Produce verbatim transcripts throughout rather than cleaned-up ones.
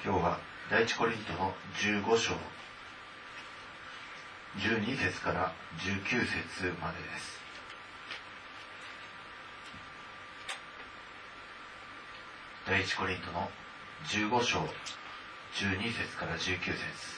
今日は第一コリントのじゅうご章じゅうに節からじゅうきゅう節までです。第一コリントのじゅうご章じゅうに節からじゅうきゅう節。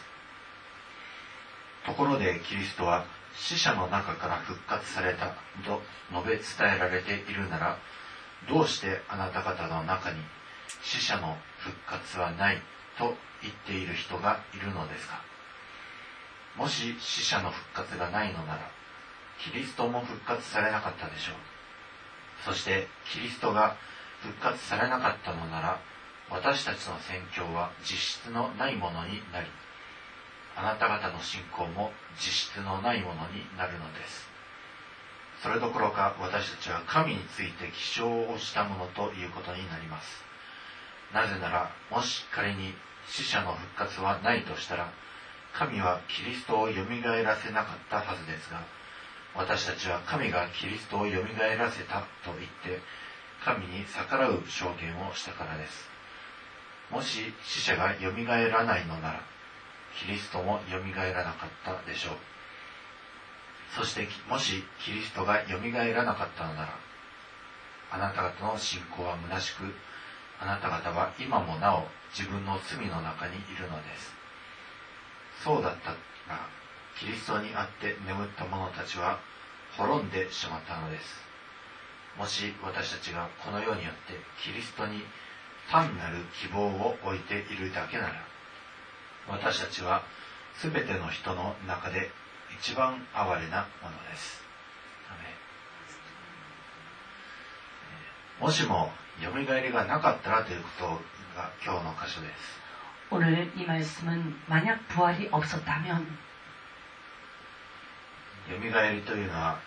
ところでキリストは死者の中から復活されたと述べ伝えられているなら、どうしてあなた方の中に死者の復活はないと言っている人がいるのですか。もし死者の復活がないのなら、キリストも復活されなかったでしょう。そしてキリストが復活されなかったのなら、私たちの宣教は実質のないものになり、あなた方の信仰も実質のないものになるのです。それどころか私たちは神について起床をしたものということになります。なぜなら、もし仮に死者の復活はないとしたら、神はキリストをよみがえらせなかったはずですが、私たちは神がキリストをよみがえらせたと言って神に逆らう証言をしたからです。もし死者がよみがえらないのなら、キリストもよみがえらなかったでしょう。そしてもしキリストがよみがえらなかったのなら、あなた方の信仰は虚しく、あなた方は今もなお自分の罪の中にいるのです。そうだったら、キリストにあって眠った者たちは滅んでしまったのです。もし私たちがこの世によってキリストに単なる希望を置いているだけなら、私たちはすべての人の中で一番哀れなものです。もしもよみがえりがなかったらということが今日の箇所です。 오늘 이 말씀은 만약 부활이 없었다면, よみがえりというのは、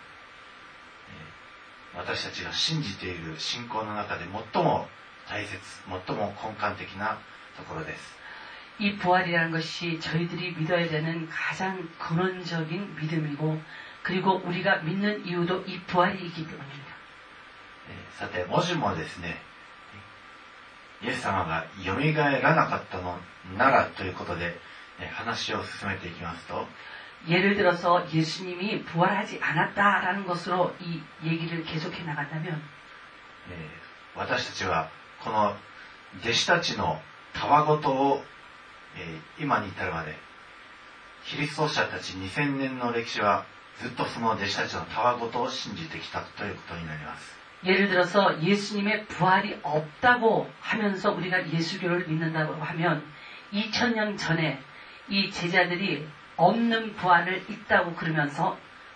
私たちが信じている信仰の中で最も大切、最も根幹的なところです。 이 부활이라는 것이 저희들이 믿어야 되는 가장 근원적인 믿음이고, 그리고 우리가 믿는 이유도 이 부활이기 때문입니다. さて、もしもですね、イエス様がよみがえらなかったのならということで話を進めていきますと、 예를 들어서 예수님이 부활하지 않았다라는 것으로 이 얘기를 계속해 나간다면, 私たちはこの弟子たちのたわごとを今に至るまで、キリスト者たちにせんねんの歴史はずっとその弟子たちのたわごとを信じてきたということになります。 예를 들어서 예수님의 부활이 없다고 하면서 우리가 예수교를 믿는다고 하면 이천 년 전에 이 제자들이 없는 부활을 있다고 그러면서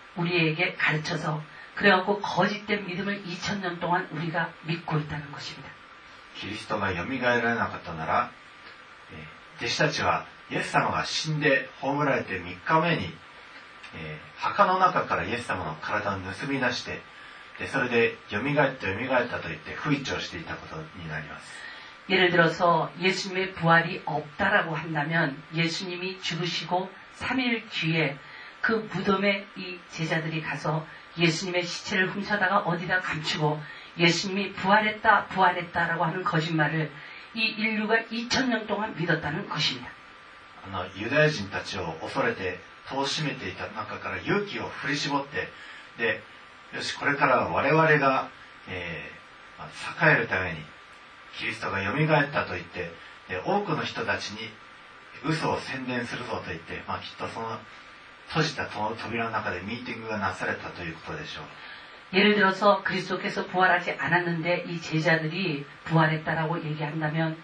우리에게 가르쳐서 그래갖고 거짓된 믿음을 이천 년 동안 우리가 믿고 있다는 것입니다. キリストがよみがえらなかったなら、弟子たちはイエス様が死んで葬られてみっかめに、えー、墓の中からイエス様の体を盗み出して、でそれでよみがえったよみがえったと言って吹聴していたことになります。 예를 들어서 예수님의 부활이 없다라고 한다면 예수님이 죽으시고 삼 일 뒤에 그 무덤에 이 제자들이 가서 예수님의 시체를 훔쳐다가 어디다 감추고 예수님이 부활했다 부활했다라고 하는 거짓말을 이 인류가 이천 년 동안 믿었다는 것입니다. あのユダヤ人たちを恐れて戸を閉めていた中から勇気を振り絞って、でよしこれからは我々が、えー、栄えるためにキリストがよみがえったと言って、で多くの人たちに嘘を宣伝するぞと言って、まあ、きっとその閉じた扉の中でミーティングがなされたということでしょう。 예를 들어서 그리스도께서 부활하지 않았는데 이 제자들이 부활했다라고 얘기한다면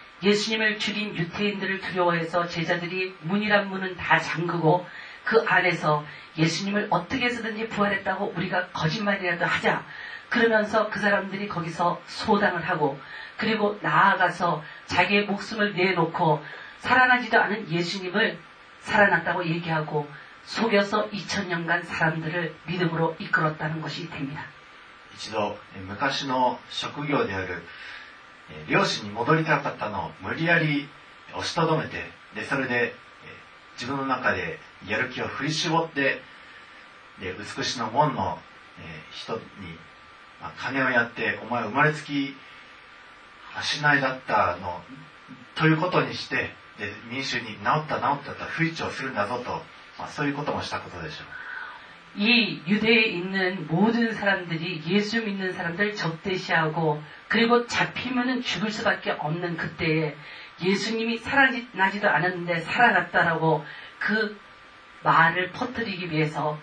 예수님을 죽인 유태인들을 두려워해서 제자들이 문이란 문은 다 잠그고 그 안에서 예수님을 어떻게 해서든지 부활했다고 우리가 거짓말이라도 하자 그러면서 그 사람들이 거기서 소당을 하고, 그리고 나아가서 자기의 목숨을 내놓고 살아나지도 않은 예수님을 살아났다고 얘기하고 속여서 이천 년간 사람들을 믿음으로 이끌었다는 것이 됩니다. 一度昔の職業である漁師に戻りたかったのを無理やり押しとどめて、でそれで自分の中でやる気を振り絞って、で美しの門の人に金をやって、お前生まれつき足ないだったのということにして、で民衆に治った治ったと吹聴するんだぞと、まあ、そういうこともしたことでしょう。 이 유대에 있는 모든 사람들이 예수 믿는 사람들 적대시하고 그리고 잡히면은 죽을 수밖에 없는 그때에 예수님이 살아나지도 않았는데 살아났다라고 그 말을 퍼뜨리기 위해서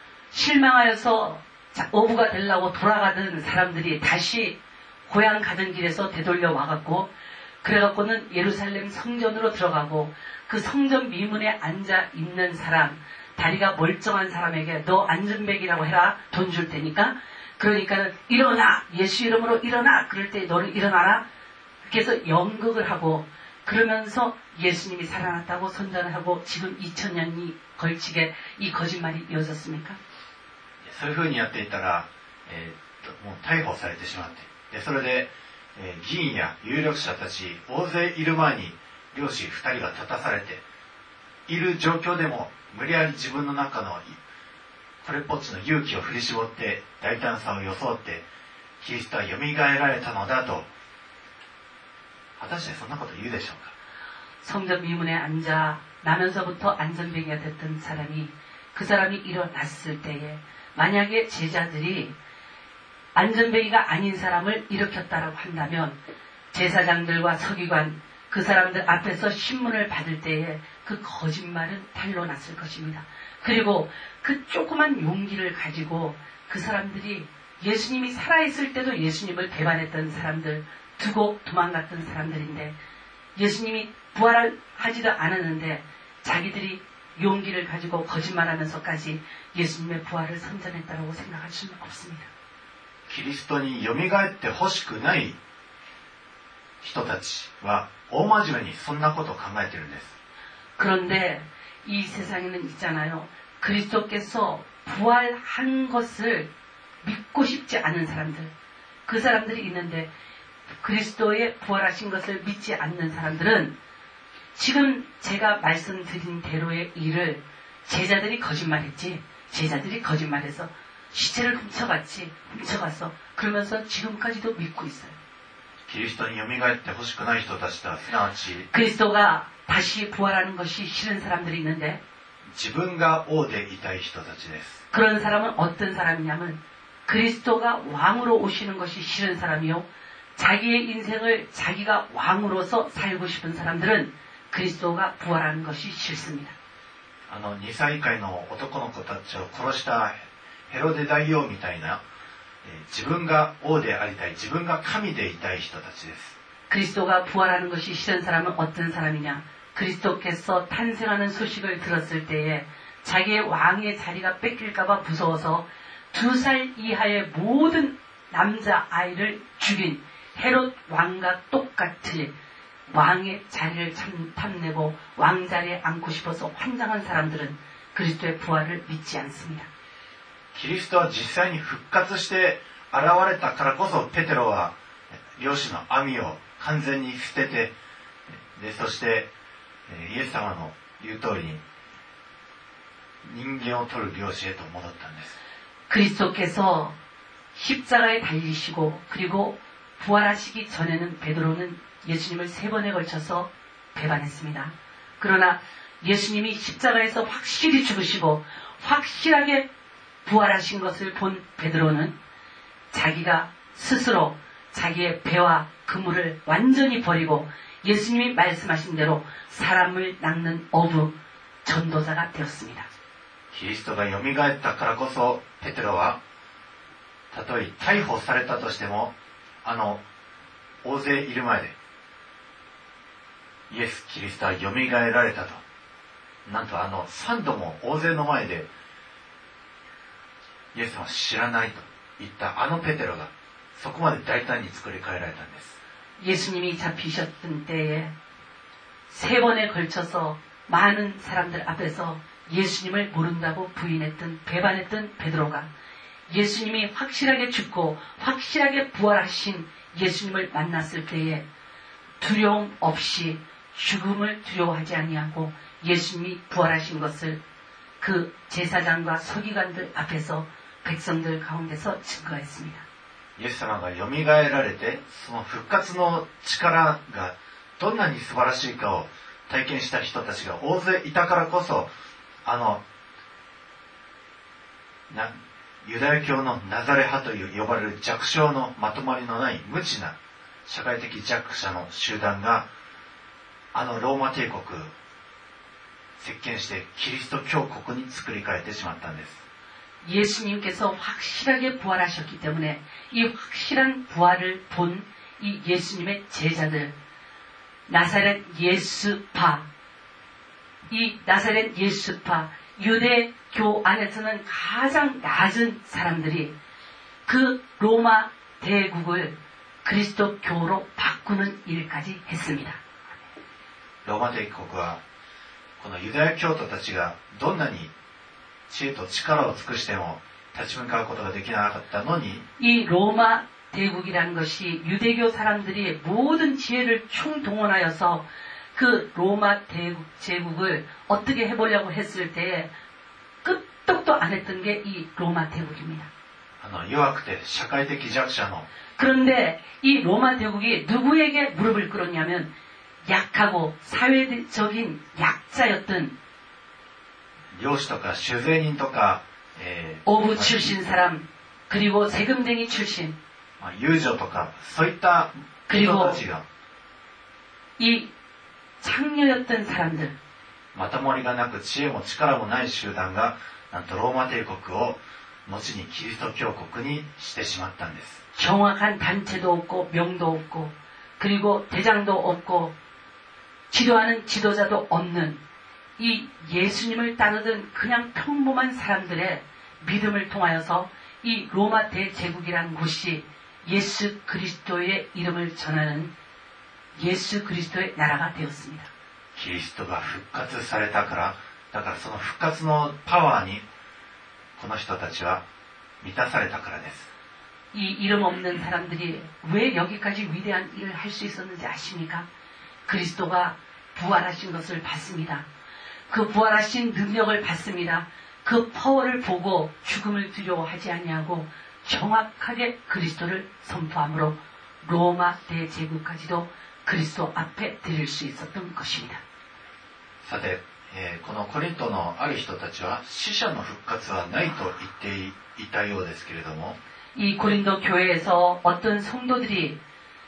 실망하여서 어부가 되려고 돌아가던 사람들이 다시 고향 가던 길에서 되돌려 와갖고 그래갖고는 예루살렘 성전으로 들어가고 그 성전 미문에 앉아 있는 사람, 다리가 멀쩡한 사람에게 너 안전벨이라고 해라, 돈 줄 테니까. 그러니까 일어나, 예수 이름으로 일어나. 그럴 때 너는 일어나라. 그렇게 해서 연극을 하고 그러면서 예수님이 살아났다고 선전을 하고 지금 이천 년이 걸치게 이 거짓말이 이어졌습니까? そういうふうにやっていたら、えー、ともう逮捕されてしまって、でそれで、えー、議員や有力者たち大勢いる前に漁師ふたりが立たされている状況でも無理やり自分の中のこれっぽっちの勇気を振り絞って大胆さを装ってキリストはよみがえられたのだと、果たしてそんなこと言うでしょうか。 성전 미문에 앉아 나면서부터 안전뱅이가 됐던 사람이 그 사람이 일어났을 때에 만약에 제자들이 안전뱅이가 아닌 사람을 일으켰다라고 한다면 제사장들과 서기관 그 사람들 앞에서 신문을 받을 때에 그 거짓말은 탄로 났을 것입니다. 그리고 그 조그만 용기를 가지고 그 사람들이 예수님이 살아있을 때도 예수님을 배반했던 사람들, 두고 도망갔던 사람들인데 예수님이 부활하지도 않았는데 자기들이 용기를 가지고 거짓말하면서까지 예수님의 부활을 선전했다고 생각할 수는 없습니다. キリストによみがえってほしくない人たちは大真面目にそんなことを考えているんです。 그런데 이 세상에는 있잖아요. 그리스도께서 부활한 것을 믿고 싶지 않은 사람들, 그 사람들이 있는데 그리스도의 부활하신 것을 믿지 않는 사람들은 지금 제가 말씀드린 대로의 일을 제자들이 거짓말했지, 제자들이 거짓말해서 시체를 훔쳐갔지, 훔쳐가서 그러면서 지금까지도 믿고 있어요. キリストによみがえってほしくない人たちとはすなわち 그리스도가 다시 부활하는 것이 싫은 사람들이 있는데 自分が王でいたい人たちです。 그런 사람은 어떤 사람이냐면 그리스도가 왕으로 오시는 것이 싫은 사람이요, 자기의 인생을 자기가 왕으로서 살고 싶은 사람들은 그리스도가 부활하는 것이 싫습니다. あのにさい以下の男の子たちを殺したヘロデ大王みたいな、えー、自分が王でありたい、自分が神でいたい人たちです。 그리스도가 부활하는 것이 싫은 사람은 어떤 사람이냐? 그리스도께서 탄생하는 소식을 들었을 때에 자기의 왕의 자리가 뺏길까봐 무서워서 두 살 이하의 모든 남자 아이를 죽인 헤롯 왕과 똑같이 왕의 자리를 탐내고 왕자리에 앉고 싶어서 환장한 사람들은 그리스도의 부활을 믿지 않습니다. キリストは実際に復活して現れたからこそペテロは漁師の網を完全に捨てて、でそしてイエス様の言う通りに人間を取る漁師へと戻ったんです。 그리스도께서 십자가에 달리시고 그리고 부활하시기 전에는 베드로는 예수님을 세 번에 걸쳐서 배반했습니다. 그러나 예수님이 십자가에서 확실히 죽으시고 확실하게 부활하신 것을 본 베드로는 자기가 스스로 자기의 배와 그물을 완전히 버리고 예수님이 말씀하신 대로 사람을 낚는 어부 전도자가 되었습니다. キリストがよみがえったからこそペテロはたとえ逮捕されたとしてもあの大勢いる前でイエス・キリストはよみがえられたと、なんとあのさんども大勢の前でイエス様を知らないと言ったあのペテロがそこまで大胆に作り変えられたんです。 예수님이 잡히셨던 때에 세 번에 걸쳐서 많은 사람들 앞에서 예수님을 모른다고 부인했던, 배반했던 베드로가 예수님이 확실하게 죽고 확실하게 부활하신 예수님을 만났을 때에 두려움 없이 죽음을 두려워하지 아니하고 예수님이 부활하신 것을 그 제사장과 서기관들 앞에서 백성들 가운데서 증거했습니다. イエス様がよみがえられてその復活の力がどんなに素晴らしいかを体験した人たちが大勢いたからこそ、あのなユダヤ教のナザレ派という呼ばれる弱小のまとまりのない無知な社会的弱者の集団があのローマ帝国席巻してキリスト教国に作り変えてしまったんです。 예수님께서 확실하게 부활하셨기 때문에 이 확실한 부활을 본 이 예수님의 제자들, 나사렛 예수파, 이 나사렛 예수파, 유대교 안에서는 가장 낮은 사람들이 그 로마 대국을 그리스도교로 바꾸는 일까지 했습니다. ローマ帝国はこのユダヤ教徒たちがどんなに知恵と力を尽くしても立ち向かうことができなかったのに、 이 로마 대국이라는 것이 유대교 사람들이 모든 지혜를 총동원하여서 그 로마 대국 제국을 어떻게 해보려고 했을 때에 끄떡도 안 했던 게 이 로마 대국입니다. あの弱くて社会的弱者の 그런데 이 로마 대국이 누구에게 무릎을 꿇었냐면 약하고 사회적인 약자였던 領主とか酒税人とか、えー 어부 출신 사람, 그리고 세금쟁이 출신, まあ遊女とかそういった人たちが 이 창녀였던 사람들, まともりがなく知恵も力もない集団がなんとローマ帝国を後にキリスト教国にしてしまったんです。 정확한 단체도 없고 명도 없고 그리고 대장도 없고 지도하는 지도자도 없는 이 예수님을 따르던 그냥 평범한 사람들의 믿음을 통하여서 이 로마 대제국이란 곳이 예수 그리스도의 이름을 전하는 예수 그리스도의 나라가 되었습니다. キリストが復活されたから、だからその復活のパワーにこの人たちは満たされたからです。 이 이름 없는 사람들이 왜 여기까지 위대한 일을 할 수 있었는지 아십니까? 그리스도가 부활하신 것을 봤습니다. 그 부활하신 능력을 봤습니다. 그 파워를 보고 죽음을 두려워하지 아니하고 정확하게 그리스도를 선포함으로 로마 대제국까지도 그리스도 앞에 드릴 수 있었던 것입니다. さて、えーこのコリントのある人たちは死者の復活はないと言っていたようですけれども、 이 고린도 교회에서 어떤 성도들이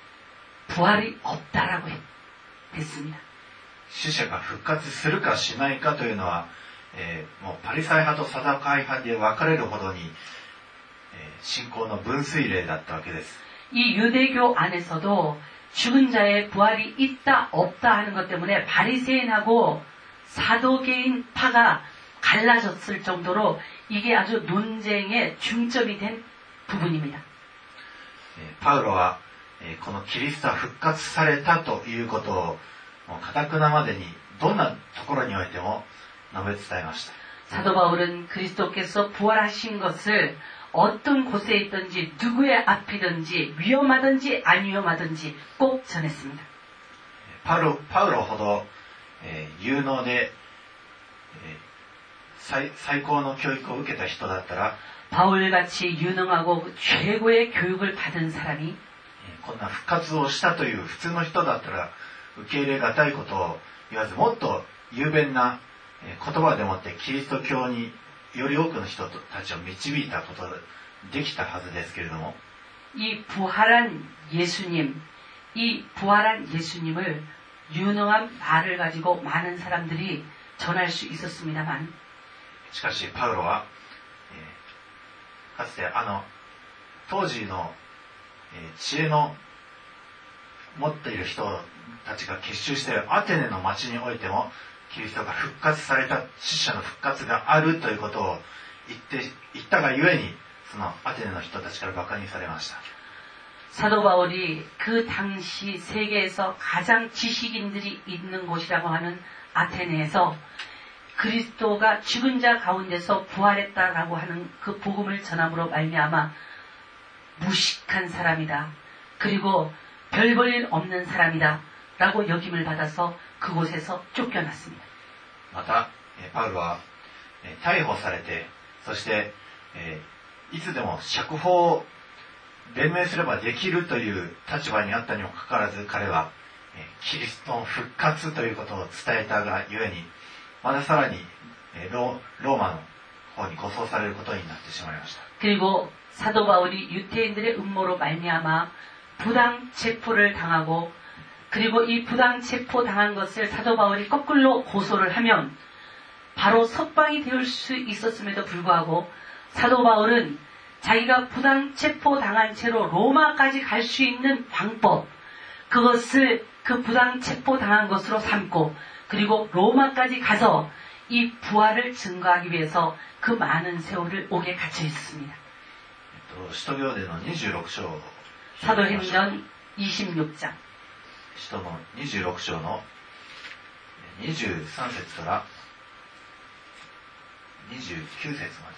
부활이 없다라고 했습니다. 死者が復活するかしないかというのは、えーもうパリサイ派とサダカイ派で分かれるほどに、えー信仰の分水嶺だったわけです。 이 유대교 안에서도 죽은 자의 부활이 있다 없다 하는 것 때문에 바리새인하고 사도계인 파가 갈라졌을 정도로 이게 아주 논쟁의 중점이 된 부분입니다. えーパウロは、えーこのキリストは復活されたということをもう固くなまでにどんなところにおいても述べ伝えました。 사도 바울은 그리스도께서 부활하신 것을 어떤 곳에 있든지 누구의 앞이든지 위험하든지 안 위험하든지 꼭 전했습니다. パウロ、パウロほど、えー有能で、えー最、最高の教育を受けた人だったら、 바울같이 유능하고 최고의 교육을 받은 사람이 えーこんな復活をしたという普通の人だったら受け入れがたいことを言わず、もっと雄弁なえー言葉でもってキリスト教により多くの人たちを導いたことができたはずですけれども、 이 부활한 예수님, 이 부활한 예수님을 유능한 말을 가지고 많은 사람들이 전할 수 있었습니다만, しかしパウロは、えーかつてあの当時の、えー知恵の持っている人たちが結集しているアテネの町においてもキリストが復活された、死者の復活があるということを言って言ったがゆえに、そのアテネの人たちからバカにされました。 사도 바울이 그 당시 세계에서 가장 지식인들이 있는 곳이라고 하는 아테네에서 그리스도가 죽은 자 가운데서 부활했다라고 하는 그 복음을 전함으로 말미암아 무식한 사람이다. 그리고 별 볼 일 없는 사람이다. 라고 여김을 받아서 그곳에서 쫓겨났습니다. また、えーパウロは、えー逮捕されて、そして、えーいつでも釈放を弁明すればできるという立場にあったにもかかわらず、彼は、 キリストの復活ということを伝えたがゆえに、まださらにローマの方に護送されることになってしまいました。 그리고 사도 바울이 유태인들의 음모로 말미암아 부당 체포를 당하고, 그리고 이 부당 체포 당한 것을 사도 바울이 거꾸로 고소를 하면 바로 석방이 될 수 있었음에도 불구하고 사도 바울은 자기가 부당 체포 당한 채로 로마까지 갈 수 있는 방법, 그것을 그 부당 체포 당한 것으로 삼고, 그리고 로마까지 가서 이 부활을 증거하기 위해서 그 많은 세월을 옥에 갇혀 있었습니다. 使徒行伝のにじゅうろく章、 사도행전 이십육 장 使徒のにじゅうろく章のにじゅうさん節からにじゅうきゅう節まで。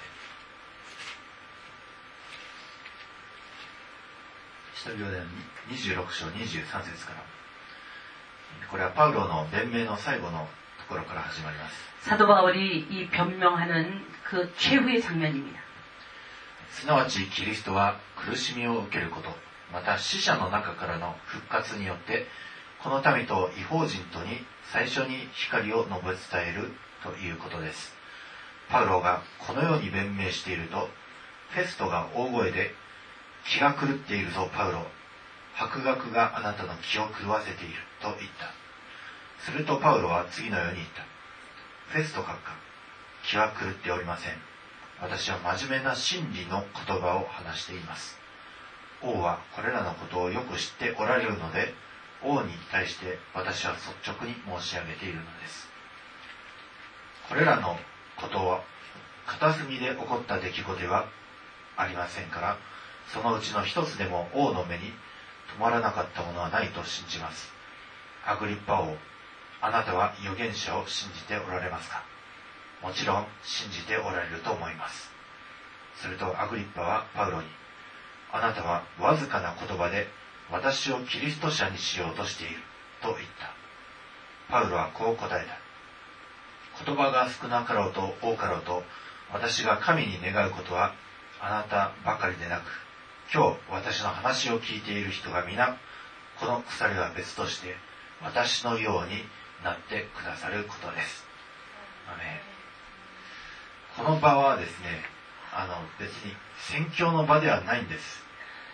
使徒行伝にじゅうろく章にじゅうさん節から。これはパウロの弁明の最後のところから始まります。 사도 바울이 이 변명하는 그 최후의 장면입니다. すなわちキリストは苦しみを受けること、また死者の中からの復活によってこの民と異邦人とに最初に光を述べ伝えるということです。パウロがこのように弁明していると、フェストが大声で、気が狂っているぞパウロ、博学があなたの気を狂わせていると言った。するとパウロは次のように言った。フェスト閣下、気は狂っておりません。私は真面目な真理の言葉を話しています。王はこれらのことをよく知っておられるので、王に対して私は率直に申し上げているのです。これらのことは片隅で起こった出来事ではありませんから、そのうちの一つでも王の目に止まらなかったものはないと信じます。アグリッパ王、あなたは預言者を信じておられますか？もちろん信じておられると思います。するとアグリッパはパウロに、あなたはわずかな言葉で私をキリスト者にしようとしていると言った。パウロはこう答えた。言葉が少なかろうと多かろうと、私が神に願うことはあなたばかりでなく、今日私の話を聞いている人が皆、この鎖は別として私のようになってくださることです。アメン。この場はですね、あの別に宣教の場ではないんです。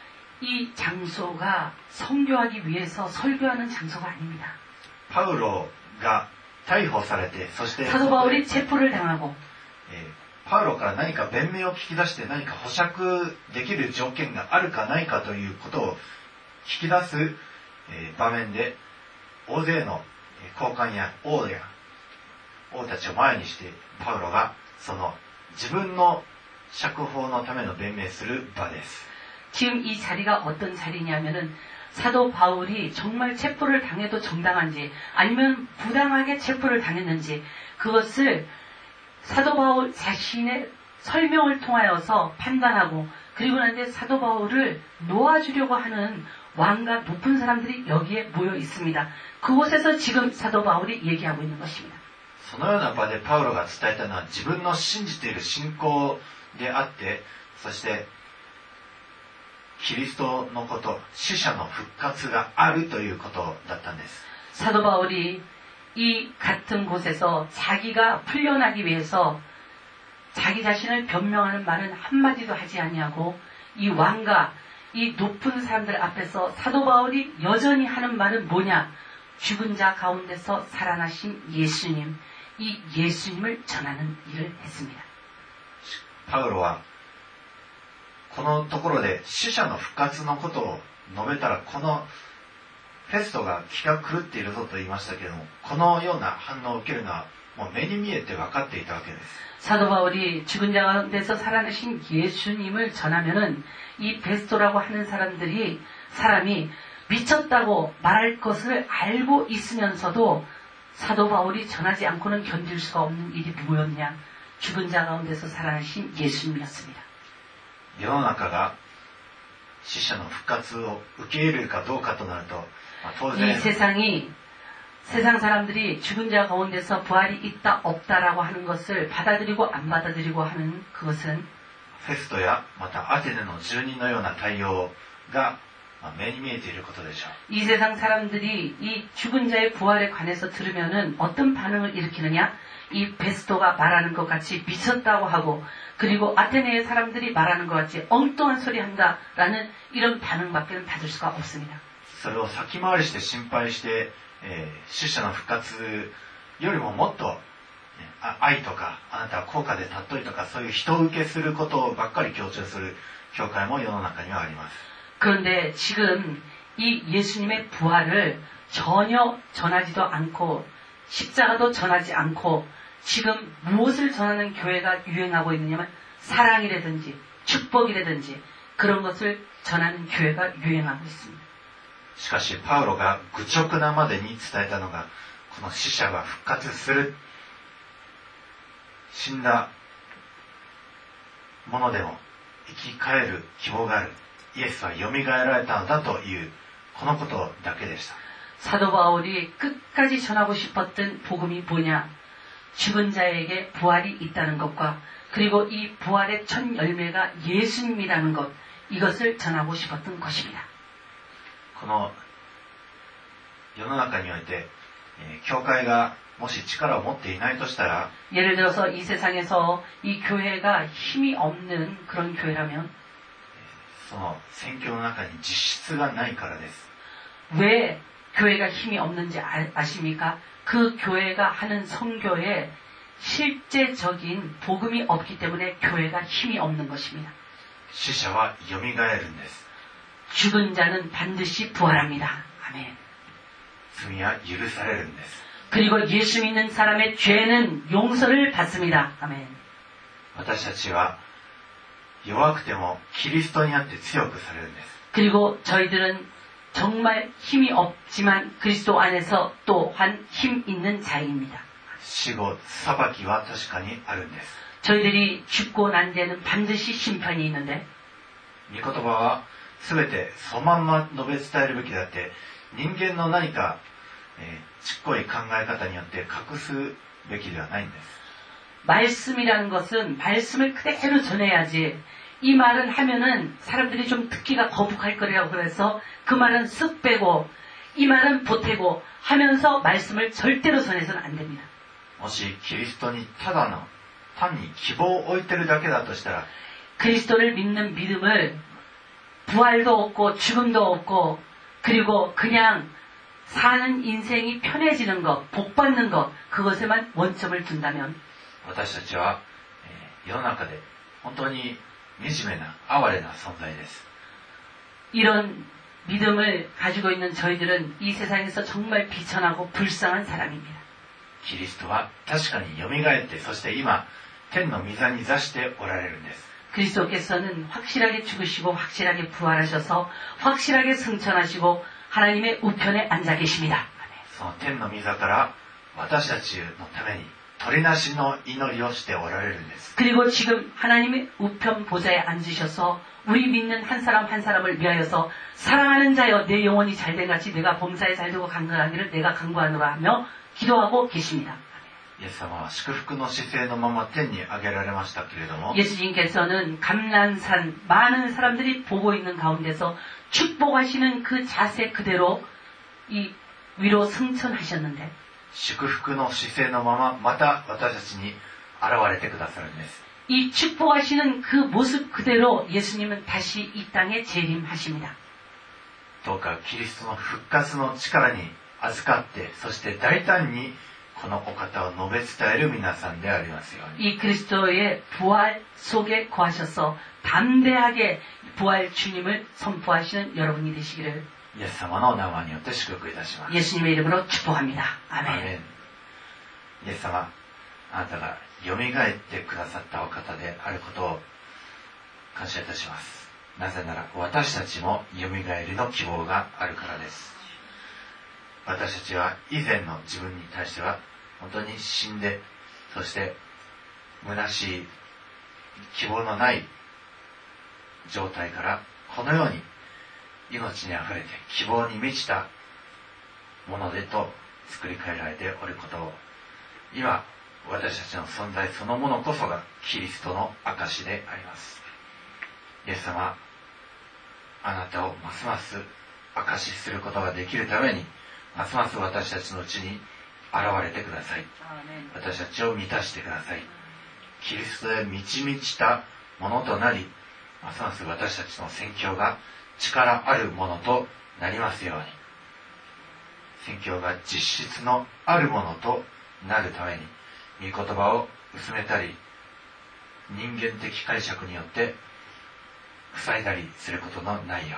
이 장소가 선교하기 위해서 설교하는 장소가 아닙니다. パウロが逮捕されて、そして 사도 바울이 체포를 당하고, えー、パウロから何か弁明を聞き出して何か保釈できる条件があるかないかということを聞き出す、えー、場面で、大勢の高官や王や王たちを前にしてパウロがその自分の釈放のための弁明する場です。 지금 이 자리가 어떤 자리냐면은 사도 바울이 정말 체포를 당해도 정당한지 아니면 부당하게 체포를 당했는지 그것을 사도 바울 자신의 설명을 통하여서 판단하고, 그리고 난 뒤에 사도 바울을 놓아주려고 하는 왕과 높은 사람들이 여기에 모여 있습니다. 그곳에서 지금 사도 바울이 얘기하고 있는 것입니다. そのような場でパウロが伝えたのは自分の信じている信仰であって、そしてキリストのこと、死者の復活があるということだったんです。 사도 바울이 이 같은 곳에서 자기가 풀려나기 위해서 자기 자신을 변명하는 말은 한마디도 하지 아니하고, 이 왕과 이 높은 사람들 앞에서 사도 바울이 여전히 하는 말은 뭐냐? 죽은 자 가운데서 살아나신 예수님, 이 예수님을 전하는 일을 했습니다. パウロはこのところで死者の復活のことを述べたら、このフェストが気が狂っているぞと言いましたけれども、このような反応を受けるのはもう目に見えて分かっていたわけです。 사도 바울이 죽은 자 가운데서 살아나신 예수님을 전하면은 이 베스토라고 하는 사람들이 사람이 미쳤다고 말할 것을 알고 있으면서도 사도 바울이 전하지 않고는 견딜 수가 없는 일이 뭐였냐? 죽은 자 가운데서 살아나신 예수님이었습니다. 世の中が死者の復活を受け入れるかどうかとなると、まあ、当然 이 세상이 세상 사람들이 죽은 자 가운데서 부활이 있다 없다라고 하는 것을 받아들이고 안 받아들이고 하는 그것은 フェストやまたアテネの住人のような対応がまあ、目に見えていることでしょう。 이 세상 사람들이 이 죽은 자의 부활에 관해서 들으면은 어떤 반응을 일으키느냐? 이 베스토가 말하는 것 같이 미쳤다고 하고, 그리고 아테네의 사람들이 말하는 것 같이 엉뚱한 소리 한다라는 이런 반응밖에 받을 수가 없습니다. それを先回りして心配して、えー、死者の復活よりももっと、ね、愛とかあなたは高価で尊いとかそういう人受けすることばっかり強調する教会も世の中にはあります。 그런데 지금 이 예수님의 부활을 전혀 전하지도 않고 십자가도 전하지 않고 지금 무엇을 전하는 교회가 유행하고 있느냐면 사랑이라든지 축복이라든지 그런 것을 전하는 교회가 유행하고 있습니다. しかしパウロが愚直なまでに伝えたのがこの死者が復活する、死んだものでも生き返る希望がある、イエスはよみがえられたのだというこのことだけでした。 사도 바울이 끝까지 전하고 싶었던 복음이 뭐냐? 죽은 자에게 부활이 있다는 것과 그리고 이 부활의 첫 열매가 예수님이라는 것, 이것을 전하고 싶었던 것입니다. この世の中において、えー、教会がもし力を持っていないとしたら、 예를 들어서 이 세상에서 이 교회가 힘이 없는 그런 교회라면 その宣教の中に実質がないからです。 왜 교회가 힘이 없는지 아, 아십니까? 그 교회가 하는 선교에 실제적인 복음이 없기 때문에 교회가 힘이 없는 것입니다. 死者はよみがえるんです。 죽은 자는 반드시 부활합니다. 아멘. 罪は許されるんです。 그리고 예수 믿는 사람의 죄는 용서를 받습니다. 아멘. 私たちは弱くてもキリストにあって強くされるんです。 그리고 저희들은 정말 힘이 없지만 그리스도 안에서 또한 힘 있는 자입니다. 死後裁きは確かにあるんです。 저희들이 죽고 난 데는 반드시 심판이 있는데 御言葉は全てそのまんま述べ伝えるべきであって、人間の何か、えー、ちっこい考え方によって隠すべきではないんです。 말씀이라는 것은 말씀을 그대로 전해야지 이 말은 하면은 사람들이 좀 듣기가 거북할 거라고 그래서 그 말은 쓱 빼고 이 말은 보태고 하면서 말씀을 절대로 전해서는 안 됩니다. もしキリストにただの単に希望を置いてるだけだとしたら、 그리스도를 믿는 믿음을 부활도 없고 죽음도 없고 그리고 그냥 사는 인생이 편해지는 것, 복받는 것, 그것에만 원점을 둔다면 私たちは、えー、世の中で本当に惨めな哀れな存在です。 이런 믿음을 가지고 있는 저희들은 이 세상에서 정말 비천하고 불쌍한 사람입니다. キリストは確かによみがえって、そして今天の御座に座しておられるんです。 그리스도께서는 확실하게 죽으시고 확실하게 부활하셔서 확실하게 승천하시고 하나님의 우편에 앉아 계십니다. その天の御座から私たちのために取りなしの祈りをしておられるんです。 그리고 지금 하나님의 우편 보좌에 앉으셔서 우리 믿는 한 사람 한 사람을 위하여서 사랑하는 자여 내 영혼이 잘된 같이 내가 범사에 잘되고 강건하기를 내가 강구하노라 하며 기도하고 계십니다. イエス様は祝福の姿勢のまま天に上げられましたけれども、 예수님께서는 감난산 많은 사람들이 보고 있는 가운데서 축복하시는 그 자세 그대로 이 위로 승천하셨는데 祝福の姿勢のまままた私たちに現れてくださるんです。 이 축복하시는 그 모습 그대로 예수님은 다시 이 땅에 재림하십니다. どうかキリストの復活の力に預かって、そして大胆にこのお方を述べ伝える皆さんでありますように。 이 그리스도의 부활 속에 거하셔서 담대하게 부활 주님을 선포하시는 여러분이 되시기를 イエス様の名前によって祝福いたします。 예수님의 이름으로 축복합니다. アー 아멘. メン。イエス様、あなたがよみがえってくださったお方であることを感謝いたします。なぜなら私たちもよみがえりの希望があるからです。私たちは以前の自分に対しては本当に死んで、そして虚しい希望のない状態からこのように命にあふれて希望に満ちたものでと作り変えられておることを、今私たちの存在そのものこそがキリストの証であります。イエス様、 あなたをますます証しすることができるために、ますます私たちのうちに現れてください。私たちを満たしてください。キリストへ満ち満ちたものとなり、ますます私たちの宣教が力あるものとなりますように、宣教が実質のあるものとなるために、御言葉を薄めたり、人間的解釈によって塞いだりすることのないよ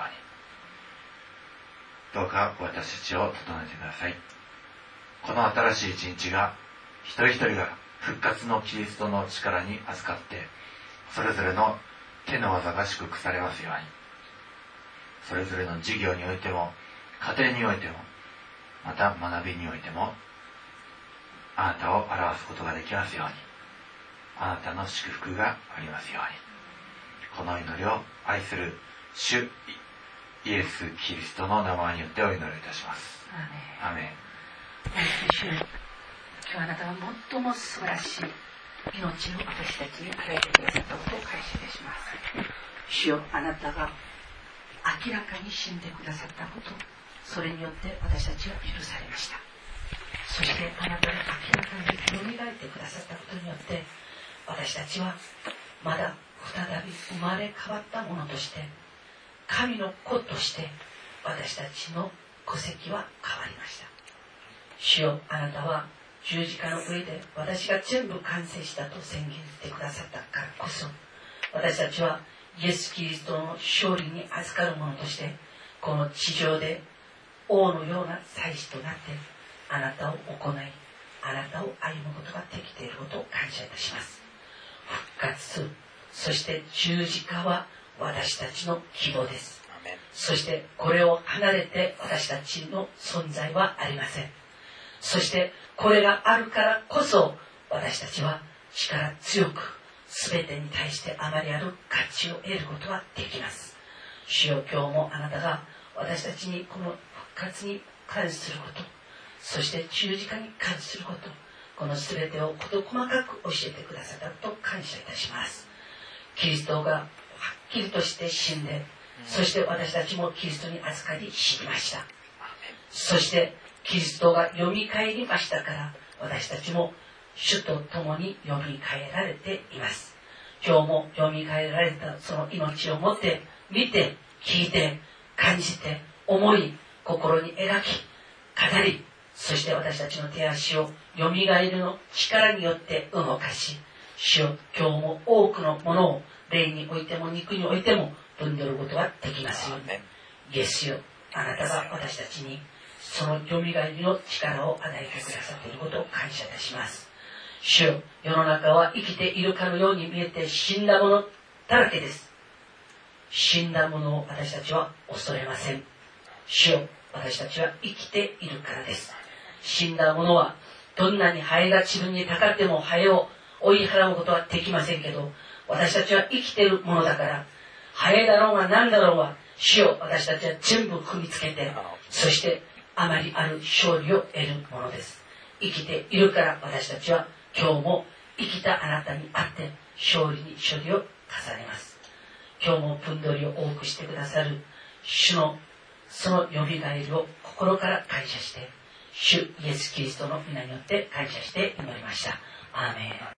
うに、どうか私たちを整えてください。この新しい一日が、一人一人が復活のキリストの力に預かって、それぞれの手の技が祝福されますように、それぞれの事業においても、家庭においても、また学びにおいても、あなたを表すことができますように、あなたの祝福がありますように、この祈りを愛する主イエス・キリストの名前によってお祈りいたします。アメン。 主、今日あなたは最も素晴らしい命を私たちに与えてくださったことを感謝いたします。主よ、あなたが明らかに死んでくださったこと、それによって私たちは許されました。そしてあなたが明らかによみがえってくださったことによって、私たちはまだ再び生まれ変わったものとして、神の子として私たちの戸籍は変わりました。主よ、あなたは十字架の上で私が全部完成したと宣言してくださったからこそ、私たちはイエス・キリストの勝利に預かる者として、この地上で王のような祭司となってあなたを行い、あなたを歩むことができていることを感謝いたします。復活、そして十字架は私たちの希望です。そしてこれを離れて私たちの存在はありません。そしてこれがあるからこそ、私たちは力強く全てに対してあまりある価値を得ることができます。主よ、今日もあなたが私たちにこの復活に関すること、そして十字架に関すること、この全てを事細かく教えてくださったと感謝いたします。キリストがはっきりとして死んで、そして私たちもキリストに預かり死にました。そしてキリストがよみがえりましたから、私たちも主と共によみがえられています。今日もよみがえられたその命を持って見て、聞いて、感じて、思い、心に描き、語り、そして私たちの手足をよみがえりの力によって動かし、主よ、今日も多くのものを霊においても肉においても分取ることができますように。イエスよ、あなたが私たちにそのよみがえりの力を与えてくださっていることを感謝いたします。主よ、世の中は生きているかのように見えて死んだものだらけです。死んだものを私たちは恐れません。主よ、私たちは生きているからです。死んだものはどんなにハエが自分にたかってもハエを追い払うことはできませんけど、私たちは生きているものだから、ハエだろうが何だろうが、主よ、私たちは全部踏みつけて、そしてあまりある勝利を得るものです。生きているから私たちは今日も生きたあなたにあって勝利に勝利を重ねます。今日も分取りを多くしてくださる主のそのよみがえりを心から感謝して、主イエス・キリストの皆によって感謝して祈りました。アーメン。